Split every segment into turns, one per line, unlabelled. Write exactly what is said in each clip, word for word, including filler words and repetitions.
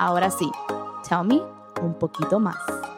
Ahora sí, tell me un poquito más.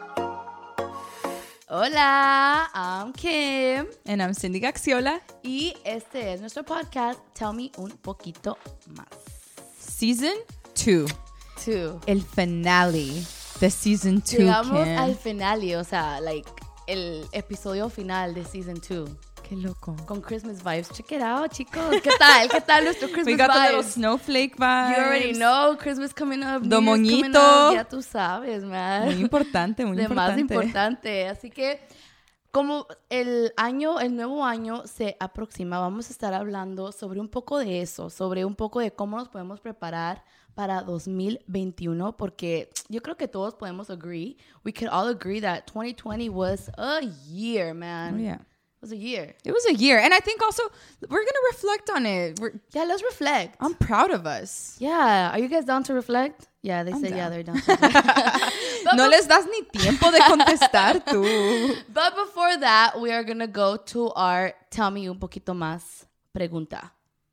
Hola, I'm Kim.
And I'm Cindy Gaxiola.
Y este es nuestro podcast, Tell Me Un Poquito Más.
Season two.
Two.
El finale de Season two,
Llegamos
Kim.
al finale, o sea, like, el episodio final de Season two.
Qué loco.
Con Christmas vibes. Check it out, chicos. ¿Qué tal? ¿Qué tal nuestro Christmas
We got the little
vibes?
snowflake vibes.
You already know, Christmas coming up.
Do
New Year's coming
moñito.
up. Ya tú sabes, man.
Muy importante, muy
De más
importante.
importante. Así que, como el año, el nuevo año se aproxima, vamos a estar hablando sobre un poco de eso, sobre un poco de cómo nos podemos preparar para dos mil veintiuno, porque yo creo que todos podemos agree, we could all agree that twenty twenty was a year, man.
Oh, yeah.
It was a year.
It was a year. And I think also we're going to reflect on it. We're,
Yeah, let's reflect.
I'm proud of us.
Yeah, are you guys down to reflect? Yeah, they
I'm
said
down.
yeah, they're down to reflect. But
No
be-
les das ni tiempo de contestar tú.
But before that, we are going to go to our Tell Me Un Poquito Más pregunta.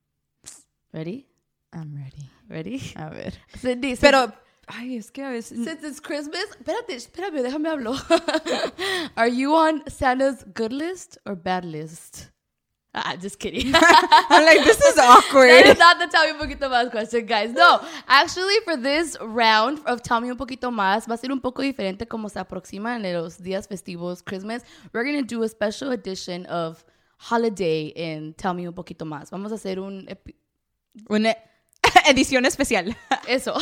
Ready?
I'm ready.
Ready?
A ver.
Cindy,
Pero, ay, es que a veces...
since it's Christmas, espérate, espérame, déjame hablar. Are you on Santa's good list or bad list? Ah, just kidding.
I'm like, this is
That
awkward.
is not the Tell Me Un Poquito Más question, guys. No, actually, for this round of Tell Me Un Poquito Más, va a ser un poco diferente como se aproximan los días festivos, Christmas. We're going to do a special edition of holiday in Tell Me Un Poquito Más. Vamos a hacer un... epi-
Una edición especial.
Eso.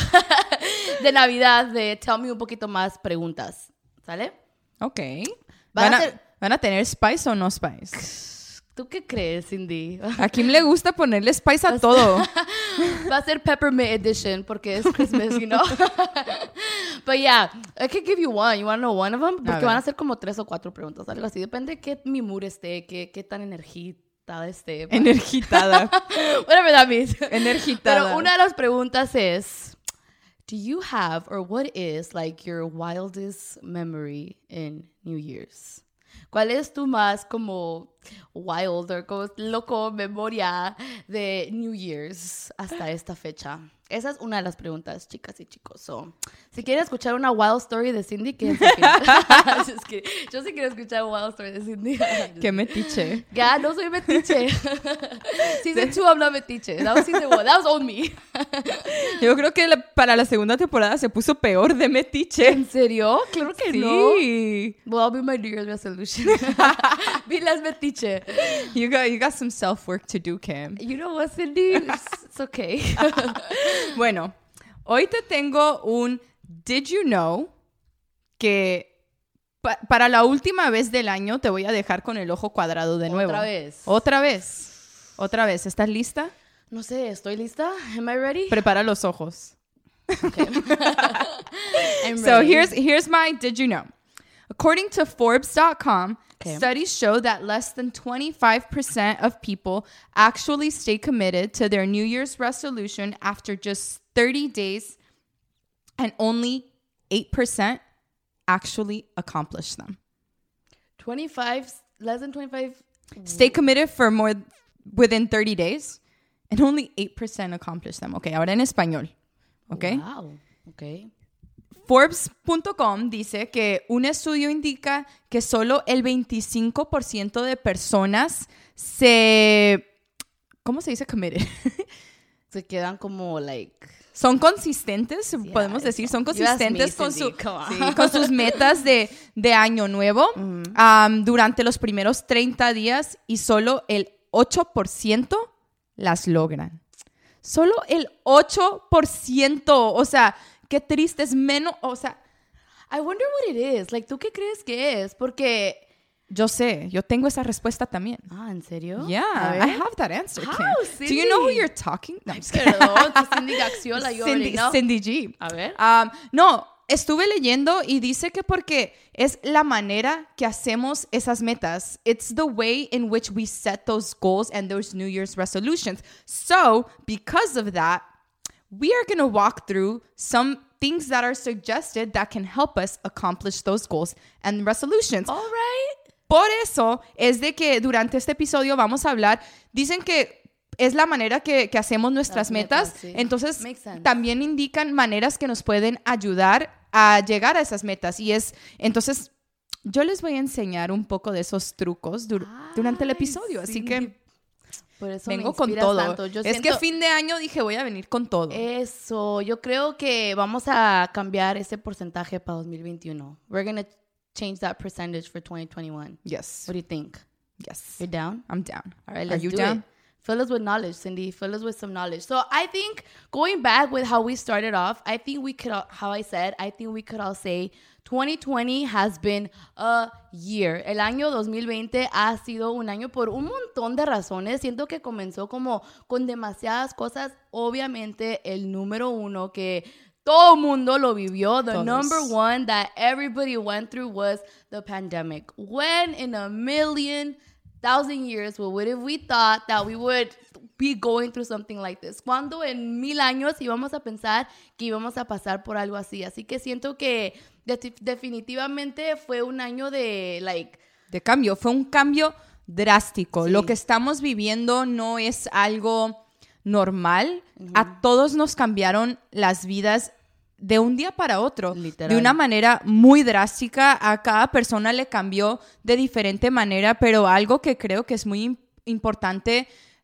De Navidad, de Tell Me Un Poquito Más preguntas. ¿Sale?
Ok.
Van
¿Van
a
a,
ser-
¿Van a tener spice o no spice?
¿Tú qué crees, Cindy?
A Kim le gusta ponerle spice a todo.
Va a ser Peppermint Edition porque es Christmas, you know? But yeah, I could give you one. You want to know one of them? Porque
ver.
van a ser como tres o cuatro preguntas, algo así. Depende de qué mi mood esté, qué, qué tan energitada esté.
Energitada.
Whatever that means.
Energitada.
Pero una de las preguntas es, do you have, or what is, like, your wildest memory in New Year's? ¿Cuál es tu más como wild o como loco memoria de New Year's hasta esta fecha? Esa es una de las preguntas, chicas y chicos. So, si quieren escuchar una wild story de Cindy, quédense aquí. Just kidding. Yo sí quiero escuchar una wild story de Cindy.
Qué metiche.
Ya, no soy metiche. Season two, I'm not metiche. That was season one. That was on me.
Yo creo que la- para la segunda temporada se puso peor de metiche.
¿En serio? Claro que no.
Sí.
Well, I'll be my New Year's resolution. Be less metiche.
You got, you got some self-work to do, Kim.
You know what, Cindy? It's, it's okay.
Bueno, hoy te tengo un Did You Know que pa- para la última vez del año te voy a dejar con el ojo cuadrado de nuevo.
Otra vez.
Otra vez. Otra vez. ¿Estás lista?
No sé, ¿estoy lista? Am I ready?
Prepara los ojos.
Okay. I'm
So
ready.
here's here's my Did You Know. According to Forbes dot com,
Okay.
studies show that less than twenty-five percent of people actually stay committed to their New Year's resolution after just thirty days, and only eight percent actually accomplish them.
twenty-five, less than twenty-five.
Stay committed for more within thirty days, and only eight percent accomplish them. Okay, ahora en español. Okay.
Wow. Okay.
Forbes punto com dice que un estudio indica que solo el veinticinco por ciento de personas se... ¿Cómo se dice committed?
Se quedan como, like...
Son consistentes,
Yeah,
podemos decir,
eso.
son
You asked
consistentes
me,
con,
Cindy,
su,
come on.
sí, con sus metas de, de año nuevo um, durante los primeros treinta días y solo el ocho por ciento las logran. Solo el ocho por ciento. O sea, qué triste, es menos, o sea,
I wonder what it is. Like, ¿tú qué crees que es? Porque...
yo sé, yo tengo esa respuesta también.
Ah, ¿en serio?
Yeah,
A ver.
I have that answer,
How,
Kim. Do you know who
Cindy?
you're talking? No, I'm just kidding.
Perdón, que Cindy Gaxiola, you already
Cindy,
know.
Cindy G.
A ver.
Um, no, estuve leyendo y dice que porque es la manera que hacemos esas metas. It's the way in which we set those goals and those New Year's resolutions. So, because of that, we are going to walk through some things that are suggested that can help us accomplish those goals and resolutions.
All right.
Por eso es de que durante este episodio vamos a hablar, dicen que es la manera que, que hacemos nuestras
Las
metas.
metas, sí.
Entonces,
Makes sense.
también indican maneras que nos pueden ayudar a llegar a esas metas. Y es, entonces, yo les voy a enseñar un poco de esos trucos dur- durante el
Ay,
episodio. Así
sí.
que
Por eso
vengo
me
con
inspiras
todo.
tanto. Yo
es
siento-
que fin de año dije, voy a venir con todo.
Eso, yo creo que vamos a cambiar ese porcentaje para dos mil veintiuno. We're going to change that percentage for twenty twenty-one.
Yes.
What do you think?
Yes.
You're down?
I'm down.
All right,
Are
let's
you
do
down?
it. Fill us with knowledge, Cindy. Fill us with some knowledge. So I think going back with how we started off, I think we could, all- how I said, I think we could all say twenty twenty has been a year. El año dos mil veinte ha sido un año por un montón de razones. Siento que comenzó como con demasiadas cosas. Obviamente, el número uno que todo mundo lo vivió, the
Todos.
number one that everybody went through was the pandemic. When in a million thousand years, what would have we thought that we would be going through something like this? ¿Cuándo en mil años íbamos a pensar que íbamos a pasar por algo así? Así que siento que de- definitivamente fue un año de, like,
De cambio. Fue un cambio drástico.
Sí.
Lo que estamos viviendo no es algo normal. A todos nos cambiaron las vidas de un día para otro.
Literal.
De una manera muy drástica. A cada persona le cambió de diferente manera, pero algo que creo que es muy im- importante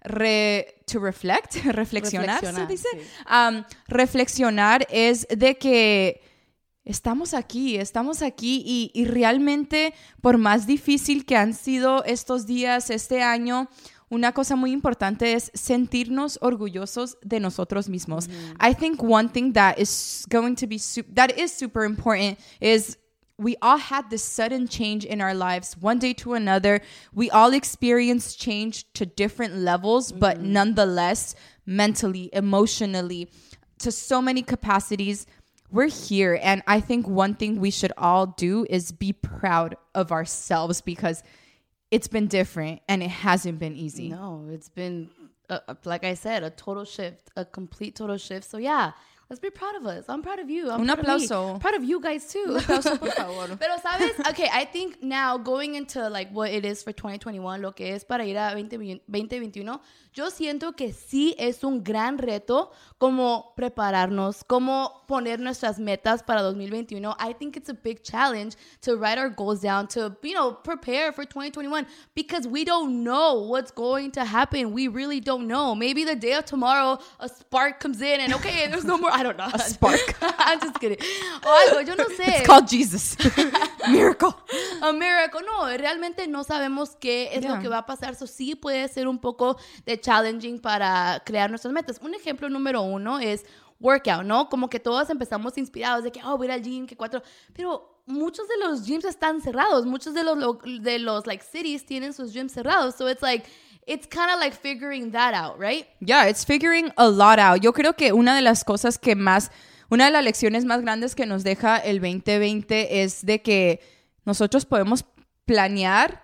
re- to reflect, reflexionar, ¿se
Reflexionar,
dice?
sí.
Um, reflexionar es de que estamos aquí, estamos aquí y, y realmente por más difícil que han sido estos días, este año, una cosa muy importante es sentirnos orgullosos de nosotros mismos. I think one thing that is going to be su- that is super important is we all had this sudden change in our lives, one day to another. We all experienced change to different levels, but nonetheless, mentally, emotionally, to so many capacities, we're here. And I think one thing we should all do is be proud of ourselves because it's been different and it hasn't been easy.
no, it's been, uh, uh, like I said, a total shift, a complete total shift. So yeah, let's be proud of us. I'm proud of you. I'm
Un
proud of me.
aplauso.
I'm proud of you guys too.
Un aplauso, por favor.
Pero sabes, okay, I think now going into like what it is for twenty twenty-one, lo que es para ir a veinte veintiuno, yo siento que sí es un gran reto como prepararnos, como poner nuestras metas para dos mil veintiuno. I think it's a big challenge to write our goals down, to, you know, prepare for twenty twenty-one because we don't know what's going to happen. We really don't know. Maybe the day of tomorrow, a spark comes in and okay, there's no more, I don't know.
A spark.
I'm just kidding. O algo, yo no sé.
It's called Jesus. Miracle.
A miracle. No, realmente no sabemos qué es
Yeah.
lo que va a pasar. So sí puede ser un poco de challenging para crear nuestras metas. Un ejemplo número uno es workout, ¿no? Como que todos empezamos inspirados de que, oh, voy a ir al gym, que cuatro. Pero muchos de los gyms están cerrados. Muchos de los, lo- de los like, cities tienen sus gyms cerrados. So it's like, it's kind of like figuring that out, right?
Yeah, it's figuring a lot out. Yo creo que una de las cosas que más, una de las lecciones más grandes que nos deja el veinte veinte es de que nosotros podemos planear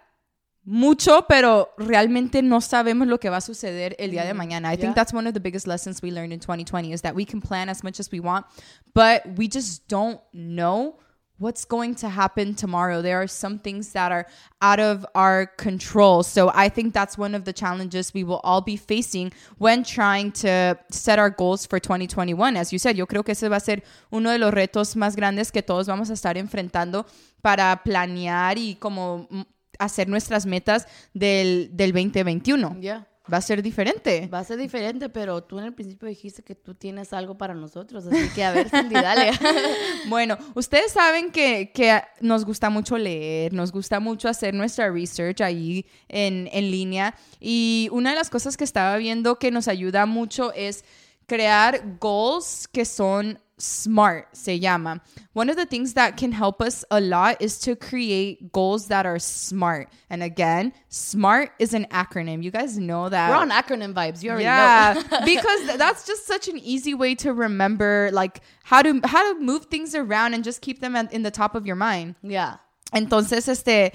mucho, pero realmente no sabemos lo que va a suceder el día de mañana. I
Yeah.
think that's one of the biggest lessons we learned in twenty twenty is that we can plan as much as we want, but we just don't know what's going to happen tomorrow. There are some things that are out of our control. So I think that's one of the challenges we will all be facing when trying to set our goals for twenty twenty-one. As you said, yo creo que ese va a ser uno de los retos más grandes que todos vamos a estar enfrentando para planear y como mm, hacer nuestras metas del, del veinte veintiuno.
Yeah.
Va a ser diferente.
Va a ser diferente, pero tú en el principio dijiste que tú tienes algo para nosotros. Así que a ver, Cindy, dale.
Bueno, ustedes saben que, que nos gusta mucho leer, nos gusta mucho hacer nuestra research ahí en, en línea. Y una de las cosas que estaba viendo que nos ayuda mucho es crear goals que son SMART, se llama. One of the things that can help us a lot is to create goals that are SMART. And again, SMART is an acronym. You guys know that.
We're on acronym vibes. You already
Yeah,
know.
because th- that's just such an easy way to remember, like how to how to move things around and just keep them at, in the top of your mind.
Yeah.
Entonces, este,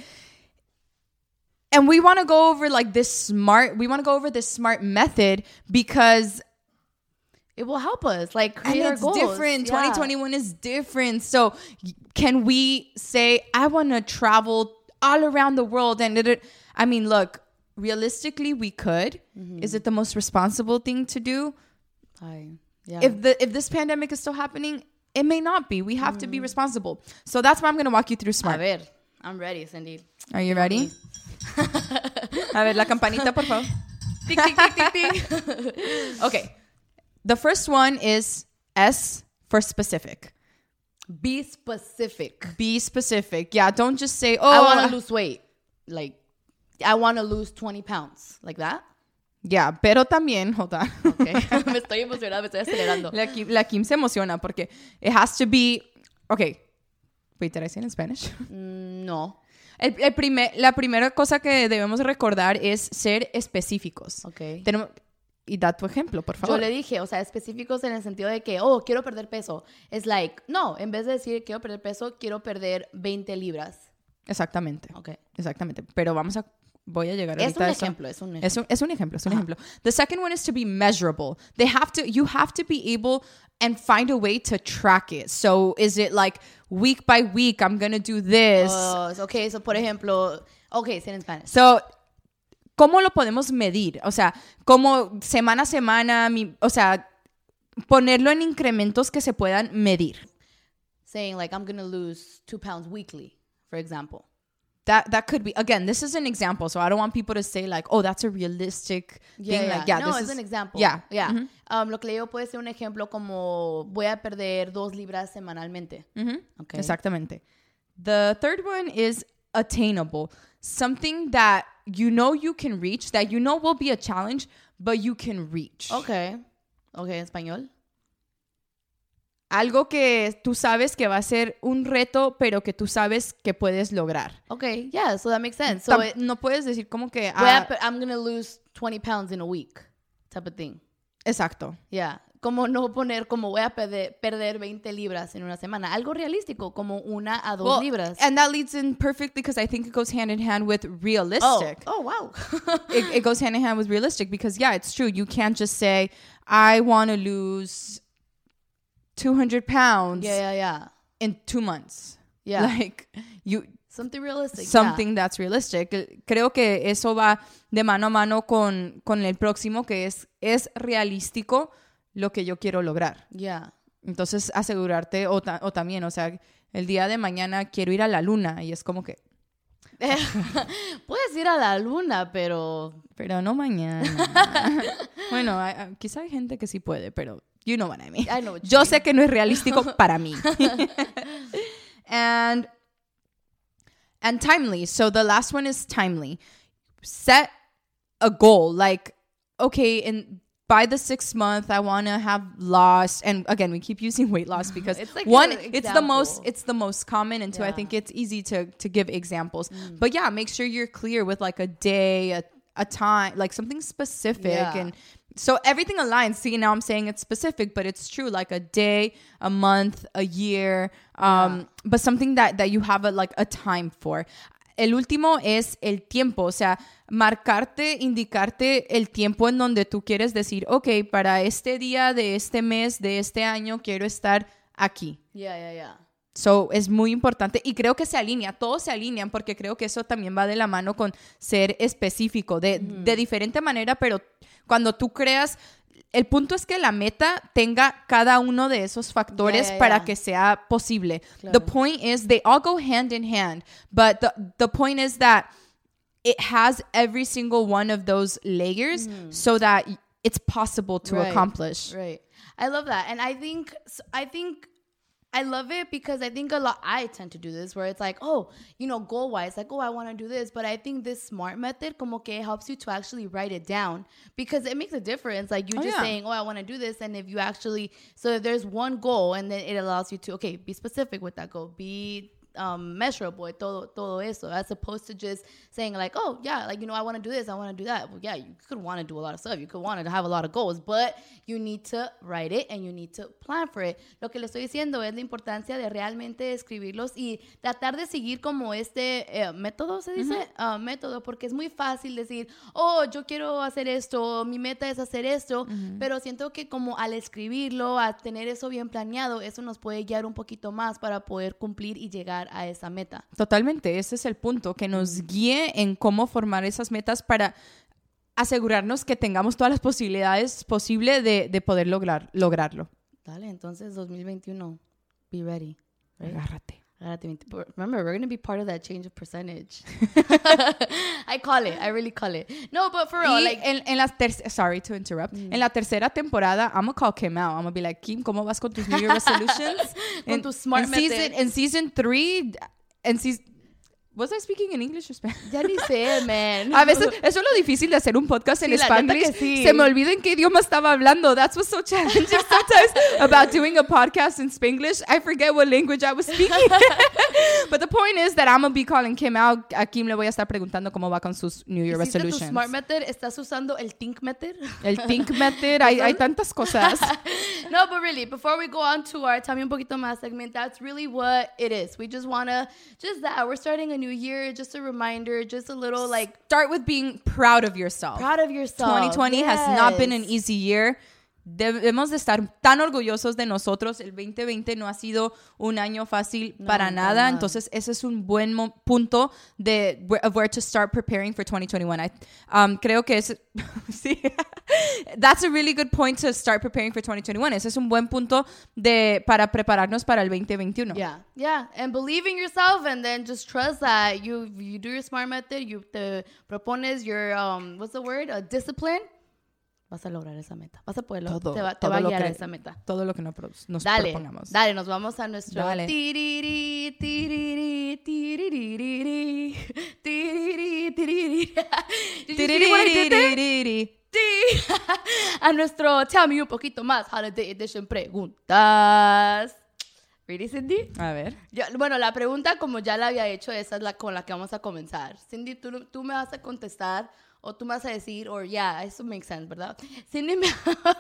and we want to go over like this smart. We want to go over this smart method because
It will help us, like,
and
create our
it's
goals.
different.
Yeah.
twenty twenty-one is different. So, y- can we say I want to travel all around the world? And it, I mean, look. realistically we could. Mm-hmm. Is it the most responsible thing to do?
Ay, yeah.
If the if this pandemic is still happening, it may not be. We have mm-hmm. to be responsible. So that's why I'm going to walk you through SMART.
A ver, I'm ready, Cindy.
Are you ready? A ver, la campanita, por favor. Tick, tick, tick, tick, tick. Okay. The first one is S for specific.
Be specific.
Be specific. Yeah, don't just say, oh,
I want to lose weight. Like, I want to lose twenty pounds. Like that?
Yeah, pero también, hold on.
Okay. Me estoy emocionando, me estoy acelerando.
La Kim, la Kim se emociona porque it has to be, okay. Wait, did I say it in Spanish?
Mm, no.
El, el primer, la primera cosa que debemos recordar es ser específicos.
Okay.
Tenemos, y da tu ejemplo, por favor.
Yo le dije, o sea, específicos en el sentido de que, oh, quiero perder peso. Es like, no, en vez de decir quiero perder peso, quiero perder veinte libras.
Exactamente.
Okay.
Exactamente. Pero vamos a, voy a llegar
es
ahorita
un
a eso.
ejemplo, es un ejemplo.
Es un, es un ejemplo, es un ejemplo. The second one is to be measurable. They have to, you have to be able and find a way to track it. So is it like week by week, I'm going to do this?
Oh, okay, so por ejemplo, okay, say it in Spanish.
So, ¿cómo lo podemos medir? O sea, como semana a semana, mi, o sea, ponerlo en incrementos que se puedan medir.
Saying like, I'm going to lose two pounds weekly, for example.
That that could be, again, this is an example, so I don't want people to say like, oh, that's a realistic
yeah,
thing.
Yeah.
Like, yeah,
no,
this
it's
is
an example.
Yeah.
Yeah.
Mm-hmm.
Um, lo que le digo puede ser un ejemplo como voy a perder dos libras semanalmente.
Mm-hmm.
Okay.
Exactamente. The third one is attainable. Something that you know you can reach, that you know will be a challenge, but you can reach.
Okay. Okay, en español.
Algo que tú sabes que va a ser un reto, pero que tú sabes que puedes lograr.
Okay, yeah, so that makes sense. So
Tam-
it,
no puedes decir como que...
voy a
Ah,
pe- I'm going to lose twenty pounds in a week, type of thing.
exacto.
Yeah. Como no poner como voy a perder, perder veinte libras en una semana. Algo realístico, como una a dos
Well,
libras.
And that leads in perfectly because I think it goes hand in hand with realistic.
Oh, oh wow.
it, it goes hand in hand with realistic because, yeah, it's true. You can't just say, I want to lose two hundred pounds
Yeah, yeah, yeah.
in two months.
Yeah.
Like, you...
Something realistic.
Something
yeah.
that's realistic. Creo que eso va de mano a mano con, con el próximo, que es, es realístico lo que yo quiero lograr.
Yeah.
Entonces, asegurarte, o, ta, o también, o sea, el día de mañana quiero ir a la luna, y es como que...
Puedes ir a la luna, pero...
Pero no mañana. Bueno, hay, hay, quizá hay gente que sí puede, pero you know what I mean.
I know what you
Yo
mean.
sé que no es realístico para mí. And... And timely. So the last one is timely. Set a goal. Like, okay, in by the sixth month, I want to have lost. And again, we keep using weight loss because
it's like
one,
an
it's the most,
example.
it's the most common. And two,
Yeah.
I think it's easy to to give examples. Mm. But yeah, make sure you're clear with like a day, a, a time, like something specific.
Yeah.
And so everything aligns. See, now I'm saying it's specific, but it's true. Like a day, a month, a year, um,
Yeah.
but something that, that you have a, like a time for. El último es el tiempo, o sea, marcarte, indicarte el tiempo en donde tú quieres decir, ok, para este día de este mes, de este año, quiero estar aquí.
Yeah, yeah, yeah.
So, es muy importante y creo que se alinea, todos se alinean porque creo que eso también va de la mano con ser específico, de, mm. de diferente manera, pero cuando tú creas, el punto es que la meta tenga cada uno de esos factores
yeah, yeah,
para
yeah.
que sea posible.
Claro.
The point is, they all go hand in hand, but the, the point is that it has every single one of those layers mm. so that it's possible to
right,
accomplish.
Right. I love that. And I think, I think, I love it because I think a lot, I tend to do this where it's like, oh, you know, goal wise, like, oh, I want to do this. But I think this SMART method como que helps you to actually write it down because it makes a difference. Like you
oh,
just
yeah.
saying, oh, I want to do this. And if you actually, so if there's one goal and then it allows you to, okay, be specific with that goal, be um, measurable, todo, todo eso, as opposed to just saying like, oh, yeah, like, you know, I want to do this, I want to do that. Well, yeah, you could want to do a lot of stuff. You could want to have a lot of goals, but you need to write it and you need to plan for it. Lo que le estoy diciendo es la importancia de realmente escribirlos y tratar de seguir como este eh, método, se dice, uh-huh. uh, método, porque es muy fácil decir, oh, yo quiero hacer esto, mi meta es hacer esto, uh-huh. pero siento que como al escribirlo, a tener eso bien planeado, eso nos puede guiar un poquito más para poder cumplir y llegar llegar a esa meta.
Totalmente, ese es el punto, que nos guíe en cómo formar esas metas para asegurarnos que tengamos todas las posibilidades posibles de, de poder lograr, lograrlo.
Dale, entonces dos mil veintiuno, be ready. Right?
Agárrate.
Remember, we're going to be part of that change of percentage. I call it. I really call it. No, but for real,
y
like...
En, en la tercera... Sorry to interrupt. Mm. En la tercera temporada, I'm going to call Kim out. I'm going to be like, Kim, ¿cómo vas con tus New Year resolutions?
Con
en,
tus smart
en
methods.
Season, en season three... En season... Was I speaking in English or Spanish?
Ya ni sé, man.
A veces, eso es lo difícil de hacer un podcast
sí,
en Spanglish.
Sí.
Se me olvida en qué idioma estaba hablando. That's what's so challenging sometimes about doing a podcast in Spanglish. I forget what language I was speaking. But the point is that I'm going to be calling Kim out. A Kim le voy a estar preguntando cómo va con sus New Year resolutions.
Tu smart method? ¿Estás usando el think method?
El think method. hay, hay tantas cosas.
No, but really, before we go on to our Tell Me Un Poquito Más segment, that's really what it is. We just want to, just that. We're starting a new year, just a reminder, just a little like...
Start with being proud of yourself.
Proud of yourself.
twenty twenty
yes.
has not been an easy year. Debemos de estar tan orgullosos de nosotros. El veinte veinte no ha sido un año fácil no, para nada. nada. Entonces, ese es un buen mo- punto de of where to start preparing for twenty twenty-one. I, um, creo que es... sí. That's a really good point to start preparing for twenty twenty-one. Ese es un buen punto de, para prepararnos para el veinte veintiuno.
Yeah, yeah. And believe in yourself and then just trust that you, you do your smart method, you te propones your, um, what's the word? A discipline. Vas a lograr esa meta. Vas a poderlo.
Todo,
te va, te va a guiar
que,
a esa meta.
Todo lo que nos, nos
dale,
propongamos.
Dale, nos vamos a nuestro...
Dale.
Tiriri, tiriri, tiriri, tiriri, tiriri.
Tiriri.
A nuestro Tell Me Un Poquito Más Holiday Edition preguntas. ¿Ready, Cindy?
A ver.
Yo, bueno, la pregunta, como ya la había hecho, esa es la con la que vamos a comenzar. Cindy, tú, tú me vas a contestar... O tú me vas a decir, or yeah, eso makes sense, ¿verdad? Cindy me...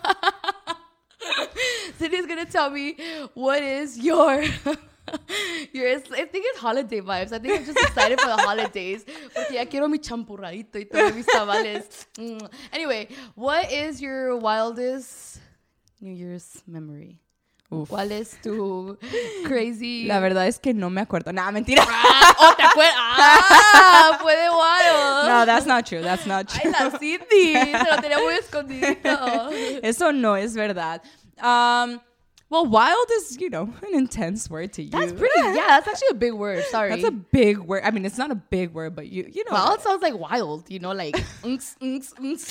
Cindy's going to tell me what is your... your... I think it's holiday vibes. I think I'm just excited for the holidays. Porque ya quiero mi champurradito y todos mis tamales. Anyway, what is your wildest New Year's memory? Uf. ¿Cuál es tu crazy...?
La verdad es que no me acuerdo. Nada, mentira.
Ah, oh, ¿te acuerdas? Ah, fue de wild.
No, that's not true. That's not true.
Ay, la Cindy. Se lo tenía muy escondidito.
Eso no es verdad. Um, well, wild is, you know, an intense word to use.
That's pretty, yeah, that's actually a big word. Sorry.
That's a big word. I mean, it's not a big word, but you, you know.
Wild sounds like wild, you know, like, unks, unks, unks.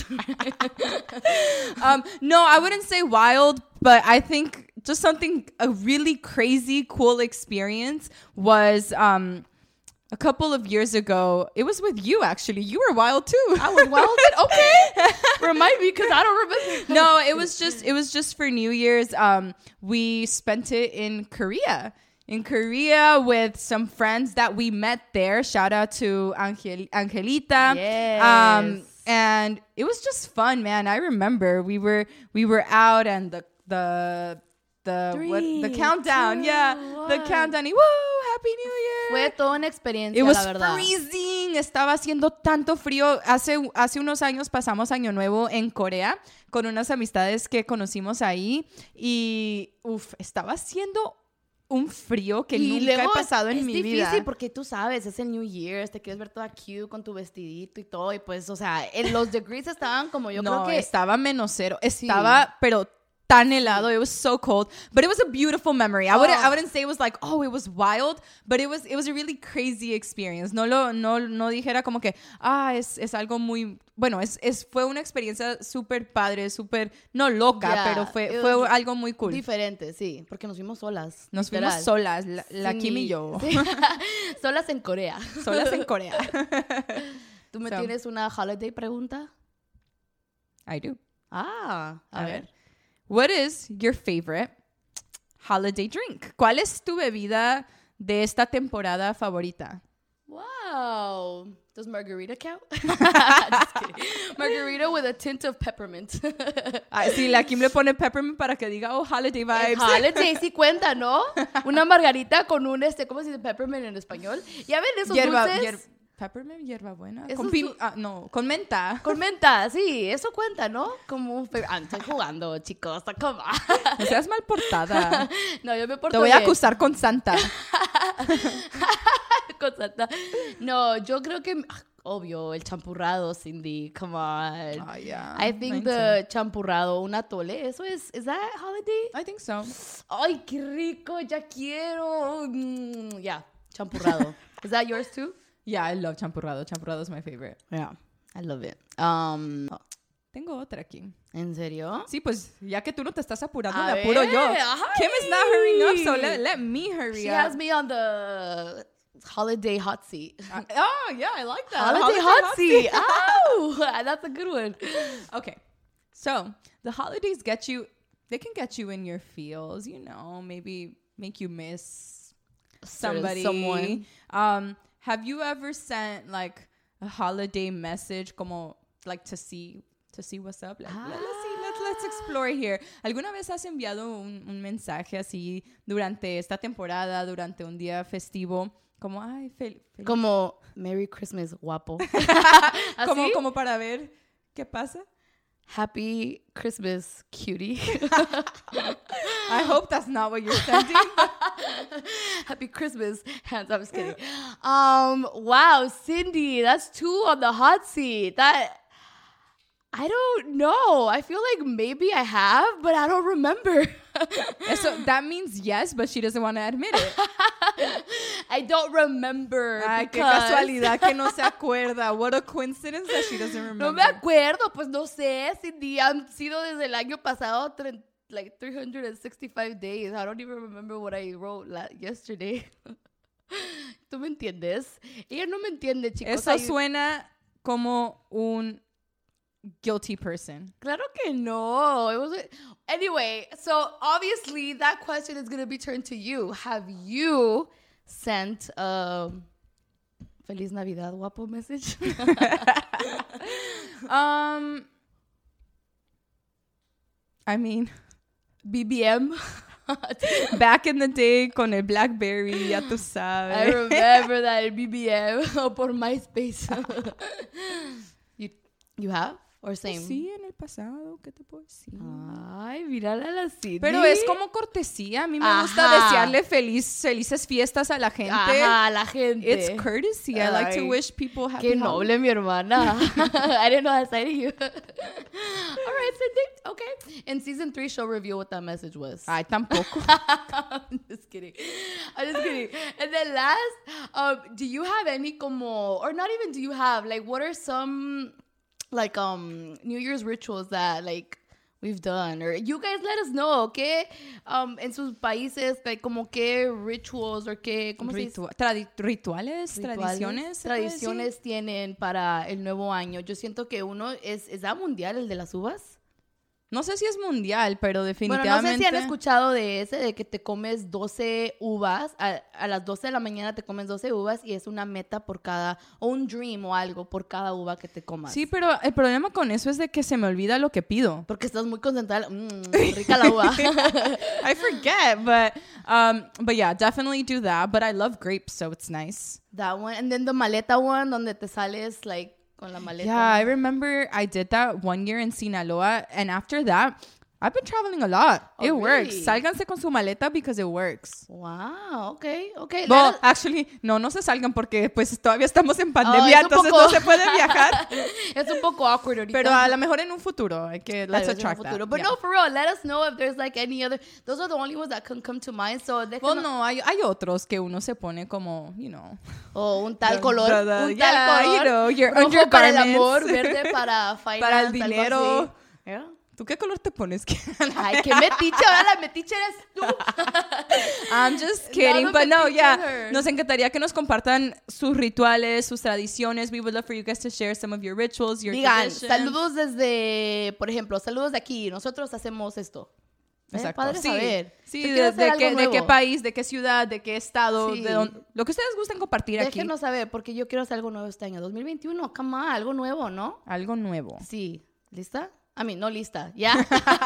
um, no, I wouldn't say wild, but I think just something, a really crazy, cool experience was um, a couple of years ago. It was with you, actually. You were wild, too.
I was wild? Okay. Remind me, because I don't remember.
No, it was just, it was just for New Year's. Um, we spent it in Korea. In Korea with some friends that we met there. Shout out to Angel- Angelita.
Yes.
Um, and it was just fun, man. I remember we were we were out and the the the
Three,
what, the countdown,
two,
yeah,
one.
the countdown. Y, woo, Happy New Year.
Fue toda una experiencia,
It was
la verdad.
freezing. Estaba haciendo tanto frío. Hace hace unos años pasamos Año Nuevo en Corea con unas amistades que conocimos ahí y uf, estaba haciendo un frío que
y
nunca he pasado en
es
mi
difícil
vida.
Porque tú sabes, es el New Year, te quieres ver toda cute con tu vestidito y todo, y pues, o sea, en los degrees estaban como yo
no,
creo que...
estaba menos cero, estaba, sí. pero tan helado, it was so cold, but it was a beautiful memory. I
oh.
wouldn't, I wouldn't say it was like, oh, it was wild, but it was, it was a really crazy experience. No lo, no, no dijera como que, ah, es, es algo muy, bueno, es, es, fue una experiencia súper padre, súper, no loca, yeah, pero fue, fue algo muy cool.
Diferente, sí, porque nos fuimos solas.
Nos
literal.
fuimos solas, la, la
sí,
Kim y yo.
Sí. Solas en Corea.
Solas en Corea.
¿Tú me
so,
tienes una holiday pregunta?
I do.
Ah, a, a ver. ver.
What is your favorite holiday drink? ¿Cuál es tu bebida de esta temporada favorita?
Wow. Does margarita count? Just kidding. Margarita with a tint of peppermint.
Ah, sí, la Kim le pone peppermint para que diga, oh, holiday vibes.
El holiday sí cuenta, ¿no? Una margarita con un, este, ¿cómo se dice peppermint en español? ¿Ya ven esos
hierba,
dulces?
Hier- Peppermint, hierbabuena.
Eso
Con
es
pim-
tu-
ah, no, con menta.
Con menta, sí, eso cuenta, ¿no? Como un... fe- Ah, estoy jugando, chicos, come on.
No seas mal portada.
No, yo me porto
Te voy a
bien.
acusar con Santa.
Con Santa. No, yo creo que... ah, obvio, el champurrado, Cindy, come on.
Oh, yeah.
I think
Mine
the champurrado, un atole, eso es... ¿Is that holiday?
I think so.
Ay, qué rico, ya quiero. Mm, yeah, champurrado. Is that yours too?
Yeah, I love champurrado. Champurrado is my favorite.
Yeah, I love it. Um,
Tengo otra aquí.
¿En serio?
Sí, pues ya que tú no te estás apurando,
A
me apuro
ver,
yo.
ay.
Kim is not hurrying up, so let, let me hurry
She
up.
has me on the holiday hot seat.
Uh, oh, yeah, I like that.
Holiday, hot, seat. Oh, that's a good one.
Okay, so the holidays get you, they can get you in your feels, you know, maybe make you miss somebody.
Someone.
Um, have you ever sent like a holiday message como like to see to see what's up? Like,
Ah.
let, let's see, let's, let's explore here. ¿Alguna vez has enviado un, un mensaje así durante esta temporada, durante un día festivo? Como, ay, fel, fel-
Como Merry Christmas, guapo.
como,
¿Así?
como para ver qué pasa.
Happy Christmas, cutie.
I hope that's not what you're sending.
Happy Christmas. Hands. I'm just kidding. Um. Wow, Cindy, that's two on the hot seat. That I don't know. I feel like maybe I have, but I don't remember.
So that means yes, but she doesn't want to admit it.
I don't remember.
Ay, qué
because-
casualidad que no se acuerda. What a coincidence that she doesn't remember.
No me acuerdo, pues no sé, Cindy. Han sido desde el año pasado tre- like three hundred sixty-five days. I don't even remember what I wrote la- yesterday. ¿Tú me entiendes? Ella no me entiende, chicos.
Eso
Ay,
suena como un guilty person.
Claro que no. It was anyway. So obviously that question is going to be turned to you. Have you sent a Feliz Navidad, guapo message?
Um, I mean,
B B M.
back in the day con el Blackberry, ya tú
I
sabes.
remember that in B B M o por MySpace. you you have or same?
Sí, en el pasado, ¿qué te puedo decir?
Ay, mírala la Cindy.
Pero es como cortesía. A mí me gusta
Ajá.
desearle feliz, felices fiestas a la gente.
Ajá, la gente.
It's courtesy. I like to
Ay,
wish people happy
Qué
holidays.
noble mi hermana. I didn't know that side of you. All right, Cindy. Okay. In season three, she'll reveal what that message was.
Ay, tampoco.
I'm just kidding. I'm just kidding. And then last, um, do you have any como, or not even do you have, like, what are some, like, um, New Year's rituals that, like, we've done? Or you guys let us know, okay? Um, en sus países, like, como qué rituals or qué, ¿cómo se dice?
Ritua- tradi- rituales,
Rituales,
tradiciones. ¿se puede decir?
tradiciones tienen para el nuevo año. Yo siento que uno es, ¿es that mundial el de las uvas?
No sé si es mundial, pero
Bueno,
definitivamente.
no sé si han escuchado de ese, de que te comes doce uvas, a, a las doce de la mañana te comes doce uvas y es una meta por cada, o un dream o algo por cada uva que te comas.
Sí, pero el problema con eso es de que se me olvida lo que pido.
Porque estás muy concentrada. Mmm, rica la uva.
I forget, but um, but yeah, definitely do that. But I love grapes, so it's nice.
That one. And then the maleta one, donde te sales, like, con la maleta.
Yeah, I remember I did that one year in Sinaloa, and after that, I've been traveling a lot.
Oh,
it
really?
works. Sálganse con su maleta because it works.
Wow, okay, okay.
Well,
Let us-
actually, no, no se salgan porque pues todavía estamos en
Oh,
pandemia,
es un
entonces
poco-
no se puede viajar.
es un poco awkward ahorita.
Pero a lo mejor en un futuro, hay que,
Tal
let's
vez en un
attract that.
futuro. But
Yeah.
no, for real, let us know if there's like any other. Those are the only ones that can come to mind. So déjenos.
Well, no, hay, hay otros que uno se pone como, you know.
O un tal
The-
color.
the- the-
un
yeah,
tal color.
you know, your
Rojo para el
undergarments.
amor, verde para finance,
Para el
algo
dinero.
así. Yeah.
¿Tú qué color te pones?
Ay, qué metiche. Ahora la metiche eres tú.
I'm just
Nada
kidding, but no,
metiche
yeah.
her.
Nos encantaría que nos compartan sus rituales, sus tradiciones. We would love for you guys to share some of your rituals, your
Digan,
traditions.
saludos desde, por ejemplo, saludos de aquí. Nosotros hacemos esto. ¿Eh?
Exacto.
Padre
Sí,
saber.
sí,
Yo
de,
quiero hacer
de
algo
qué, de qué
nuevo.
país, de qué ciudad, de qué estado,
Sí.
de dónde, lo que ustedes gusten compartir aquí.
Déjenos saber, porque yo quiero hacer algo nuevo este año. dos mil veintiuno, come on, algo nuevo, ¿no?
Algo nuevo.
Sí. ¿Lista? I mean, no lista. Yeah.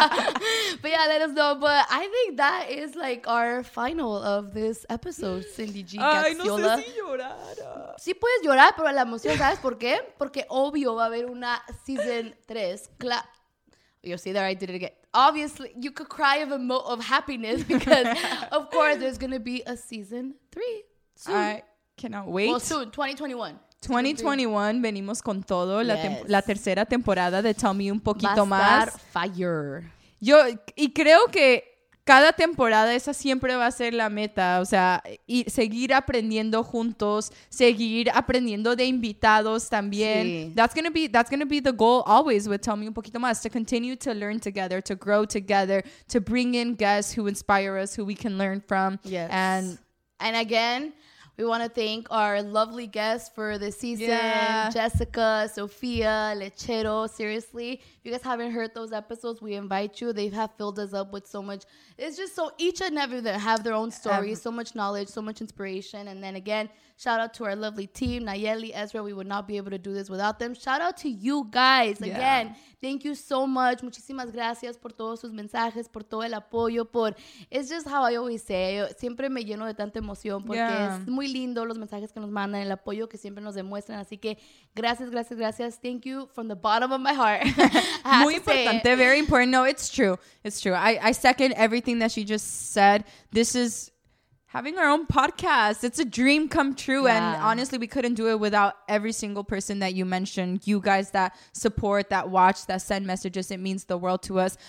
But yeah, let us know. But I think that is like our final of this episode, Cindy G.
Ay, no
Gaxiola.
sé si llorar.
Sí puedes llorar, pero la emoción, ¿sabes por qué? Porque obvio va a haber una season tres. Cla- you see there, I did it again. Obviously, you could cry of emo- of happiness because, of course, there's going to be a season three soon.
I cannot wait.
Well, soon, twenty twenty-one.
twenty twenty-one, venimos con todo. La,
Yes.
tem- la tercera temporada de Tell Me un
Va
poquito
a
más.
estar fire.
Yo, y creo que cada temporada esa siempre va a ser la meta, o sea, y seguir aprendiendo juntos, seguir aprendiendo de invitados también.
Sí.
That's gonna be that's gonna be the goal always with Tell Me un poquito más, to continue to learn together, to grow together, to bring in guests who inspire us, who we can learn from.
Yes.
And
And again, we want to thank our lovely guests for the season.
Yeah.
Jessica, Sofia, Lechero. Seriously, if you guys haven't heard those episodes, we invite you. They have filled us up with so much. It's just so each and every of them have their own stories,
Every-
so much knowledge, so much inspiration. And then again, shout out to our lovely team, Nayeli, Ezra. We would not be able to do this without them. Shout out to you guys.
Yeah.
Again, thank you so much. Muchísimas gracias por todos sus mensajes, por todo el apoyo, por... It's just how I always say. Yo siempre me lleno de tanta emoción porque
Yeah.
es muy lindo los mensajes que nos mandan, el apoyo que siempre nos demuestran. Así que gracias, gracias, gracias. Thank you from the bottom of my heart. I have
Muy
to say it.
importante, very important. No, it's true. It's true. I, I second everything that she just said. This is having our own podcast. It's a dream come true. And
Yeah.
honestly, we couldn't do it without every single person that you mentioned. You guys that support, that watch, that send messages. It means the world to us.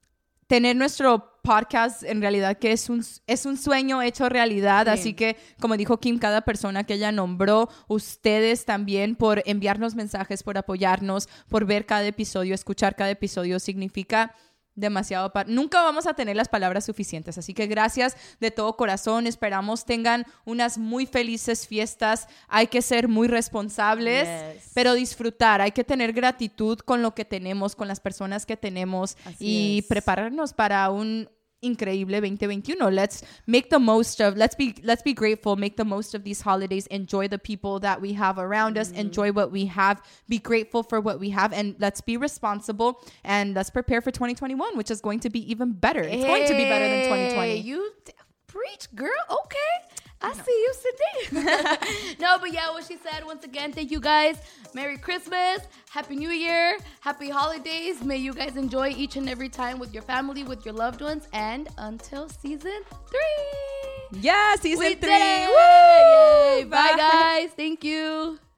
Tener nuestro podcast en realidad que es un, es un sueño hecho realidad,
Sí.
así que como dijo Kim, cada persona que ella nombró, ustedes también por enviarnos mensajes, por apoyarnos, por ver cada episodio, escuchar cada episodio, significa demasiado. Pa- Nunca vamos a tener las palabras suficientes, así que gracias de todo corazón, esperamos tengan unas muy felices fiestas, hay que ser muy responsables,
Yes.
pero disfrutar, hay que tener gratitud con lo que tenemos, con las personas que tenemos
Así
y
es.
prepararnos para un increíble veinte veintiuno. Let's make the most of, let's be, let's be grateful, make the most of these holidays, enjoy the people that we have around us, enjoy what we have, be grateful for what we have, and let's be responsible, and let's prepare for twenty twenty-one, which is going to be even better. It's going to be better than twenty twenty.
Hey, you t- preach, girl. Okay. I see you, Cindy. No, but yeah, what she said, once again, thank you guys. Merry Christmas. Happy New Year. Happy holidays. May you guys enjoy each and every time with your family, with your loved ones. And until season three.
Yeah, season
We
three.
did it.
Woo!
Yay. Bye, guys. Thank you.